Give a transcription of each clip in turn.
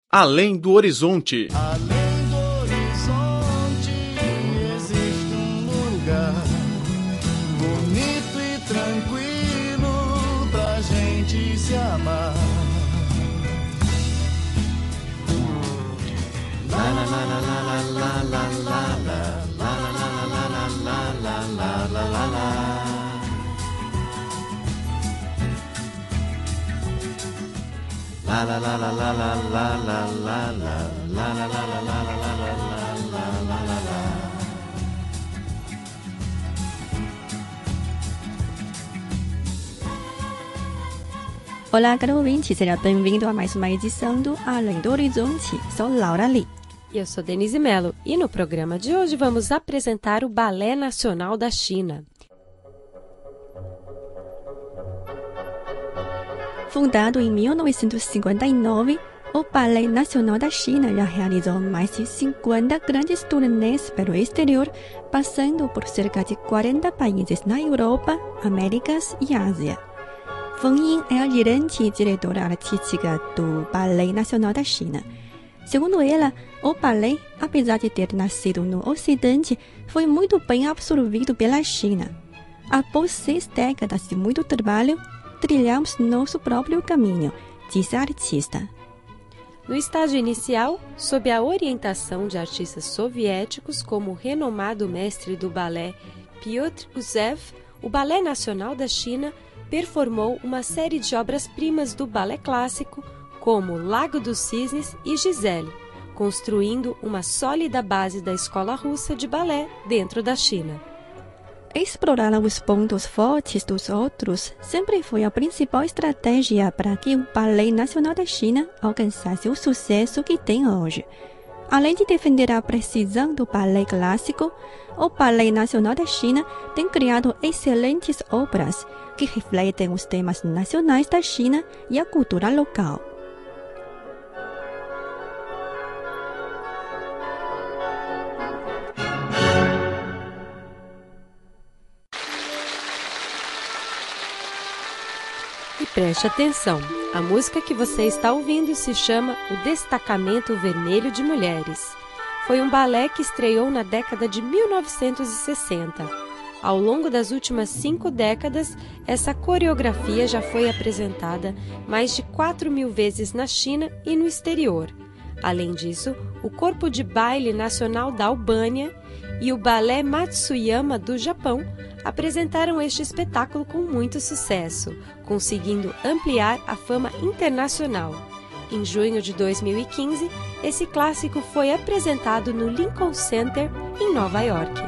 Além do horizonte. Além do horizonte existe lugar bonito e tranquilo pra gente se amar. La la la la la la la la la la la la la. La la la la la la la la la la la la la la la la la la. Olá, caro ouvinte, seja bem-vindo a mais uma edição do Além do Horizonte. Sou Laura Lee. E eu sou Denise Mello, e no programa de hoje vamos apresentar o Balé Nacional da China. Fundado em 1959, o Balé Nacional da China já realizou mais de 50 grandes turnês pelo exterior, passando por cerca de 40 países na Europa, Américas e Ásia. Feng Ying é a gerente e diretora artística do Balé Nacional da China. Segundo ela, o balé, apesar de ter nascido no Ocidente, foi muito bem absorvido pela China. Após 6 décadas de muito trabalho, trilhamos nosso próprio caminho, diz a artista. No estágio inicial, sob a orientação de artistas soviéticos como o renomado mestre do balé Pyotr Gusev, o Balé Nacional da China performou uma série de obras-primas do balé clássico, como Lago dos Cisnes e Giselle, construindo uma sólida base da escola russa de balé dentro da China. Explorar os pontos fortes dos outros sempre foi a principal estratégia para que o Balé Nacional da China alcançasse o sucesso que tem hoje. Além de defender a precisão do balé clássico, o Balé Nacional da China tem criado excelentes obras que refletem os temas nacionais da China e a cultura local. E preste atenção, a música que você está ouvindo se chama O Destacamento Vermelho de Mulheres. Foi um balé que estreou na década de 1960. Ao longo das últimas 5 décadas, essa coreografia já foi apresentada mais de 4.000 vezes na China e no exterior. Além disso, o Corpo de Baile Nacional da Albânia e o Balé Matsuyama do Japão apresentaram este espetáculo com muito sucesso, conseguindo ampliar a fama internacional. Em junho de 2015, esse clássico foi apresentado no Lincoln Center, em Nova York.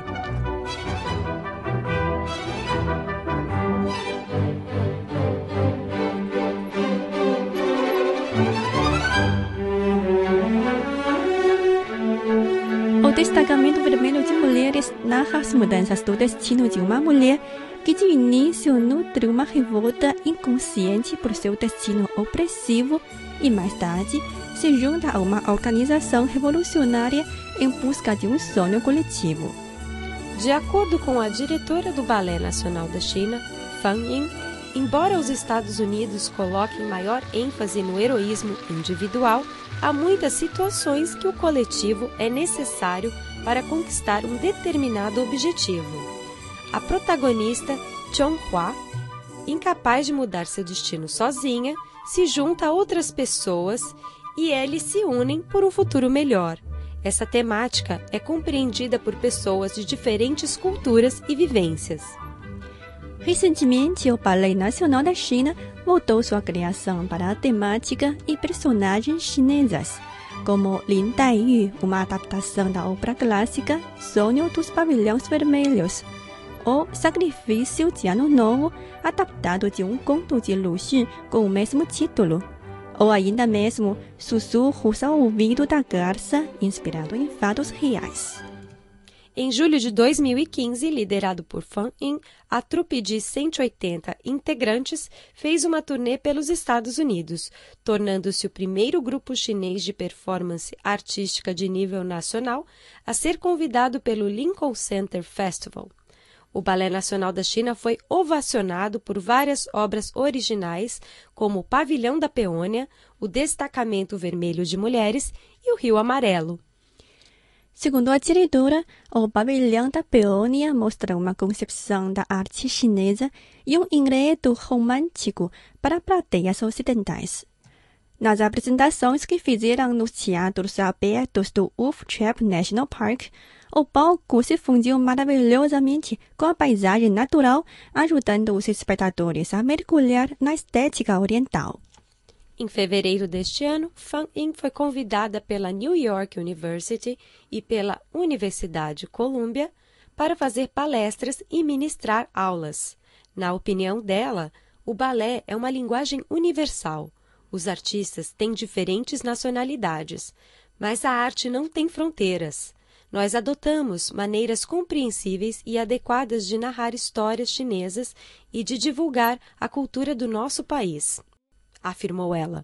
O Destacamento Vermelho de Mulheres narra as mudanças do destino de uma mulher que de início nutre uma revolta inconsciente por seu destino opressivo e mais tarde se junta a uma organização revolucionária em busca de um sonho coletivo. De acordo com a diretora do Balé Nacional da China, Feng Ying, embora os Estados Unidos coloquem maior ênfase no heroísmo individual, há muitas situações que o coletivo é necessário para conquistar um determinado objetivo. A protagonista, Chonghua, incapaz de mudar seu destino sozinha, se junta a outras pessoas e eles se unem por um futuro melhor. Essa temática é compreendida por pessoas de diferentes culturas e vivências. Recentemente, o Balé Nacional da China voltou sua criação para a temática e personagens chinesas, como Lin Daiyu, uma adaptação da obra clássica Sonho dos Pavilhões Vermelhos, ou Sacrifício de Ano Novo, adaptado de um conto de Lu Xun com o mesmo título, ou ainda mesmo Sussurros ao Ouvido da Garça, inspirado em fatos reais. Em julho de 2015, liderado por Feng Ying, a trupe de 180 integrantes fez uma turnê pelos Estados Unidos, tornando-se o primeiro grupo chinês de performance artística de nível nacional a ser convidado pelo Lincoln Center Festival. O Balé Nacional da China foi ovacionado por várias obras originais, como o Pavilhão da Peônia, o Destacamento Vermelho de Mulheres e o Rio Amarelo. Segundo a diretora, o Pavilhão da Peônia mostra uma concepção da arte chinesa e um enredo romântico para plateias ocidentais. Nas apresentações que fizeram nos teatros abertos do Wolf Trap National Park, o palco se fundiu maravilhosamente com a paisagem natural, ajudando os espectadores a mergulhar na estética oriental. Em fevereiro deste ano, Fan Ying foi convidada pela New York University e pela Universidade Columbia para fazer palestras e ministrar aulas. Na opinião dela, o balé é uma linguagem universal. Os artistas têm diferentes nacionalidades, mas a arte não tem fronteiras. Nós adotamos maneiras compreensíveis e adequadas de narrar histórias chinesas e de divulgar a cultura do nosso país, afirmou ela.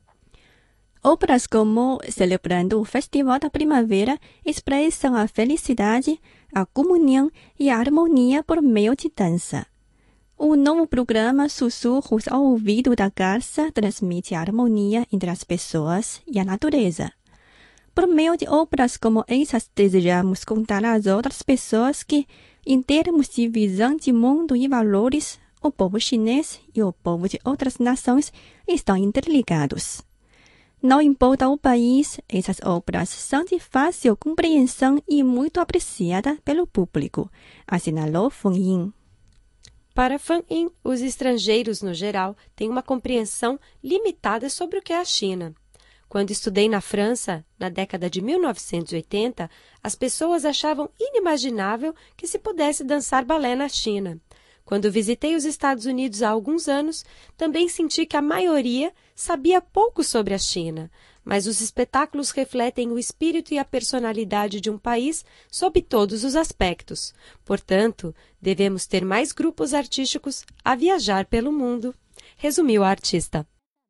Obras como Celebrando o Festival da Primavera expressam a felicidade, a comunhão e a harmonia por meio de dança. O novo programa Sussurros ao Ouvido da Garça transmite a harmonia entre as pessoas e a natureza. Por meio de obras como essas, desejamos contar às outras pessoas que, em termos de visão de mundo e valores, o povo chinês e o povo de outras nações estão interligados. Não importa o país, essas obras são de fácil compreensão e muito apreciadas pelo público, assinalou Fan Ying. Para Fan Ying, os estrangeiros, no geral, têm uma compreensão limitada sobre o que é a China. Quando estudei na França, na década de 1980, as pessoas achavam inimaginável que se pudesse dançar balé na China. Quando visitei os Estados Unidos há alguns anos, também senti que a maioria sabia pouco sobre a China, mas os espetáculos refletem o espírito e a personalidade de um país sob todos os aspectos. Portanto, devemos ter mais grupos artísticos a viajar pelo mundo, resumiu a artista.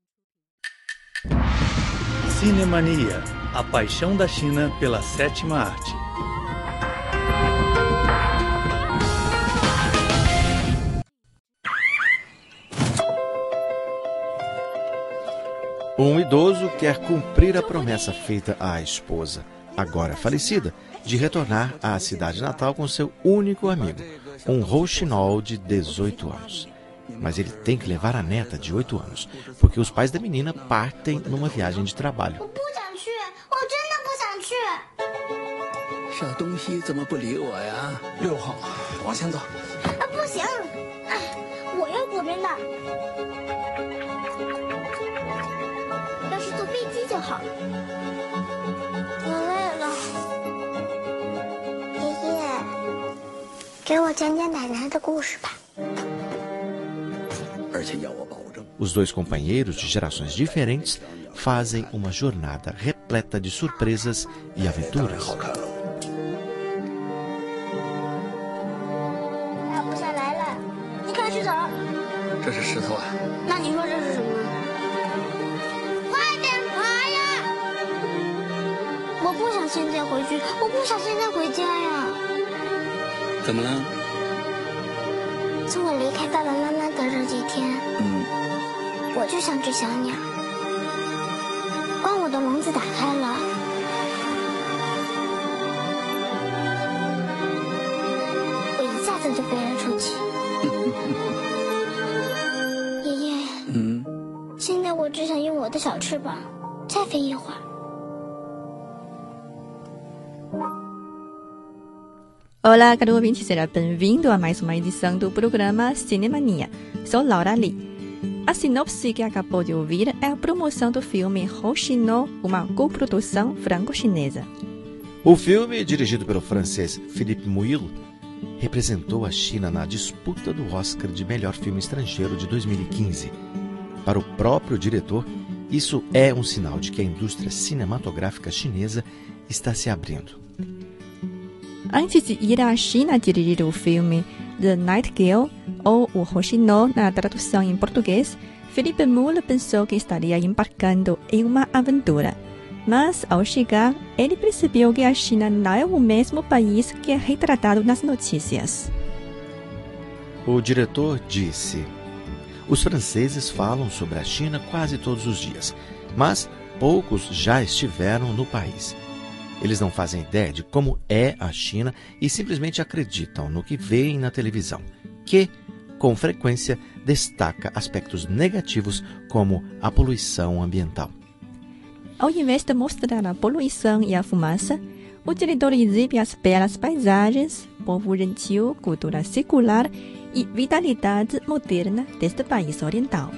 Cinemania, a paixão da China pela sétima arte. Um idoso quer cumprir a promessa feita à esposa, agora falecida, de retornar à cidade natal com seu único amigo, um rouxinol de 18 anos. Mas ele tem que levar a neta de 8 anos, porque os pais da menina partem numa viagem de trabalho. Os dois companheiros de gerações diferentes fazem uma jornada repleta de surpresas e aventuras. Olá, caro ouvinte, seja bem-vindo a mais uma edição do programa Cinemania. Sou Laura Lee. A sinopse que acabou de ouvir é a promoção do filme Rouxinol, uma coprodução franco-chinesa. O filme, dirigido pelo francês Philippe Mouille, representou a China na disputa do Oscar de melhor filme estrangeiro de 2015. Para o próprio diretor, isso é um sinal de que a indústria cinematográfica chinesa está se abrindo. Antes de ir à China dirigir o filme The Nightingale, ou O Rouxinol na tradução em português, Philippe Mouille pensou que estaria embarcando em uma aventura. Mas, ao chegar, ele percebeu que a China não é o mesmo país que é retratado nas notícias. O diretor disse: os franceses falam sobre a China quase todos os dias, mas poucos já estiveram no país. Eles não fazem ideia de como é a China e simplesmente acreditam no que veem na televisão, que, com frequência, destaca aspectos negativos como a poluição ambiental. Ao invés de mostrar a poluição e a fumaça, o diretor exibe as belas paisagens, povo gentil, cultura secular e vitalidade moderna deste país oriental.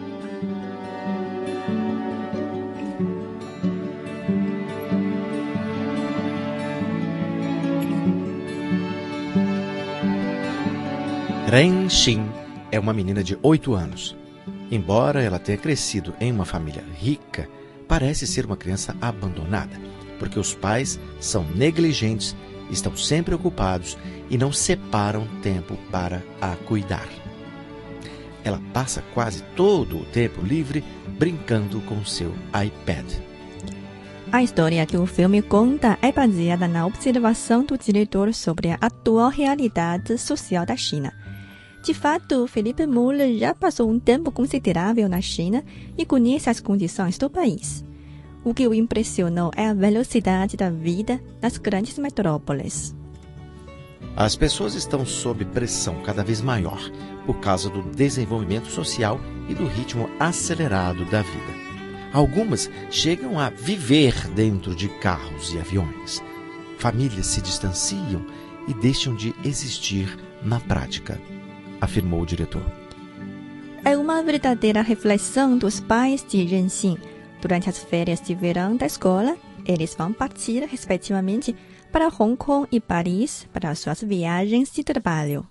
Ren Xin é uma menina de 8 anos. Embora ela tenha crescido em uma família rica, parece ser uma criança abandonada, porque os pais são negligentes, estão sempre ocupados e não separam tempo para a cuidar. Ela passa quase todo o tempo livre brincando com seu iPad. A história que o filme conta é baseada na observação do diretor sobre a atual realidade social da China. De fato, Felipe Müller já passou um tempo considerável na China e conhece as condições do país. O que o impressionou é a velocidade da vida nas grandes metrópoles. As pessoas estão sob pressão cada vez maior por causa do desenvolvimento social e do ritmo acelerado da vida. Algumas chegam a viver dentro de carros e aviões. Famílias se distanciam e deixam de existir na prática, afirmou o diretor. É uma verdadeira reflexão dos pais de Ren Xin. Durante as férias de verão da escola, eles vão partir, respectivamente, para Hong Kong e Paris para suas viagens de trabalho.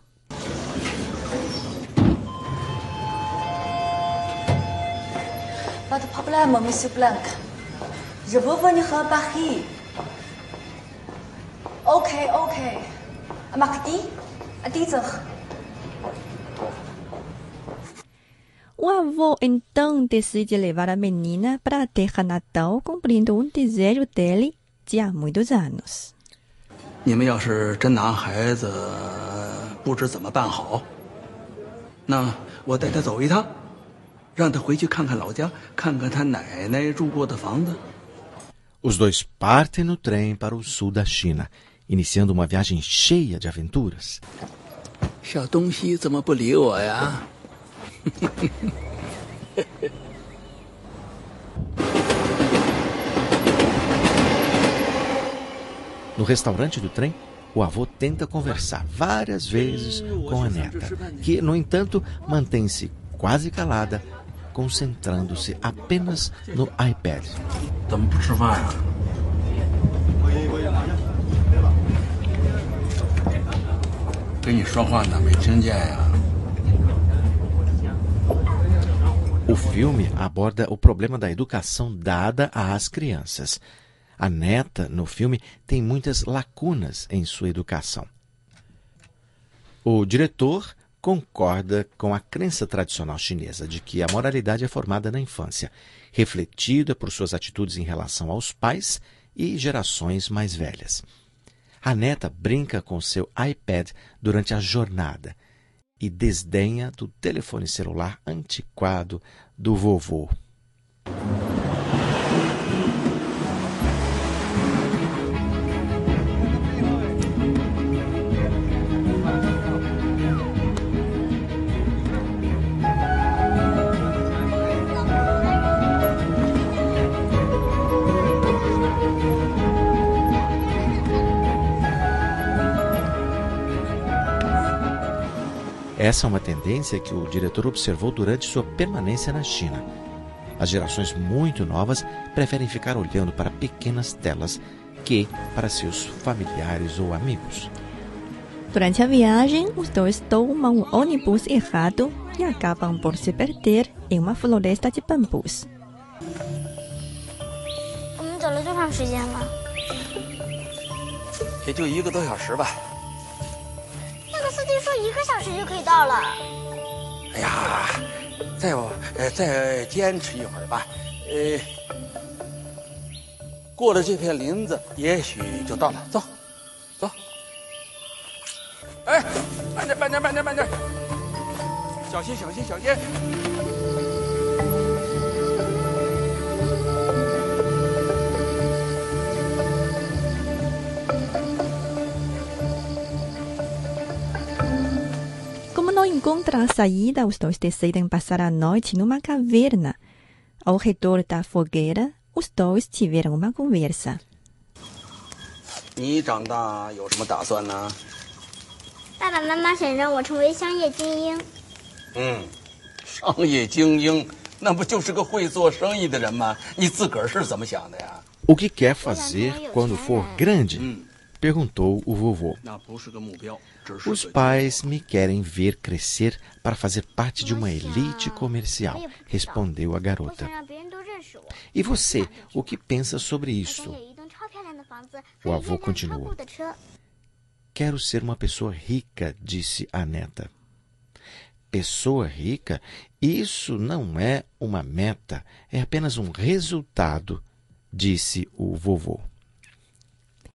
Votre problème, Monsieur Blanc. Je veux venir à Paris. Ok. Mardi, à 10h. O avô então decide levar a menina para a terra natal, cumprindo um desejo dele de há muitos anos. 你们要是真拿孩子不知怎么办好，那我带他走一趟，让他回去看看老家，看看他奶奶住过的房子。 Os dois partem no trem para o sul da China, iniciando uma viagem cheia de aventuras. 小东西怎么不理我呀？ No restaurante do trem, o avô tenta conversar várias vezes com a neta, que, no entanto, mantém-se quase calada, concentrando-se apenas no iPad. 怎么不吃饭呀？跟你说话呢，没听见呀？ O filme aborda o problema da educação dada às crianças. A neta, no filme, tem muitas lacunas em sua educação. O diretor concorda com a crença tradicional chinesa de que a moralidade é formada na infância, refletida por suas atitudes em relação aos pais e gerações mais velhas. A neta brinca com seu iPad durante a jornada e desdenha do telefone celular antiquado do vovô. Essa é uma tendência que o diretor observou durante sua permanência na China. As gerações muito novas preferem ficar olhando para pequenas telas que para seus familiares ou amigos. Durante a viagem, os dois tomam o ônibus errado e acabam por se perder em uma floresta de bambus. 我们走了多长时间了？ 也就1个多小时吧。 那个司机说1个小时就可以到了。 哎呀，再坚持一会儿吧。过了这片林子，也许就到了。走，走。哎，慢点。 小心，小心，小心！ Como não encontram a saída, os dois decidem passar a noite numa caverna. Ao redor da fogueira, os dois tiveram uma conversa. 你长大有什么打算呢？ 爸爸妈妈想让我成为商业精英。 商业精英，那不就是个会做生意的人吗？你自个儿是怎么想的呀？ O que quer fazer quando for grande? Perguntou o vovô. 那不是个目标，只是 Os pais me querem ver crescer para fazer parte de uma elite comercial, respondeu a 我 garota. 想让别人都认识我。 E você, o que pensa sobre 我 isso? 想有一栋超漂亮的房子， O 还有 avô 一辆超 continuou. 酷的车。 Quero ser uma pessoa rica, disse a neta. Pessoa rica? Isso não é uma meta, é apenas um resultado, disse o vovô.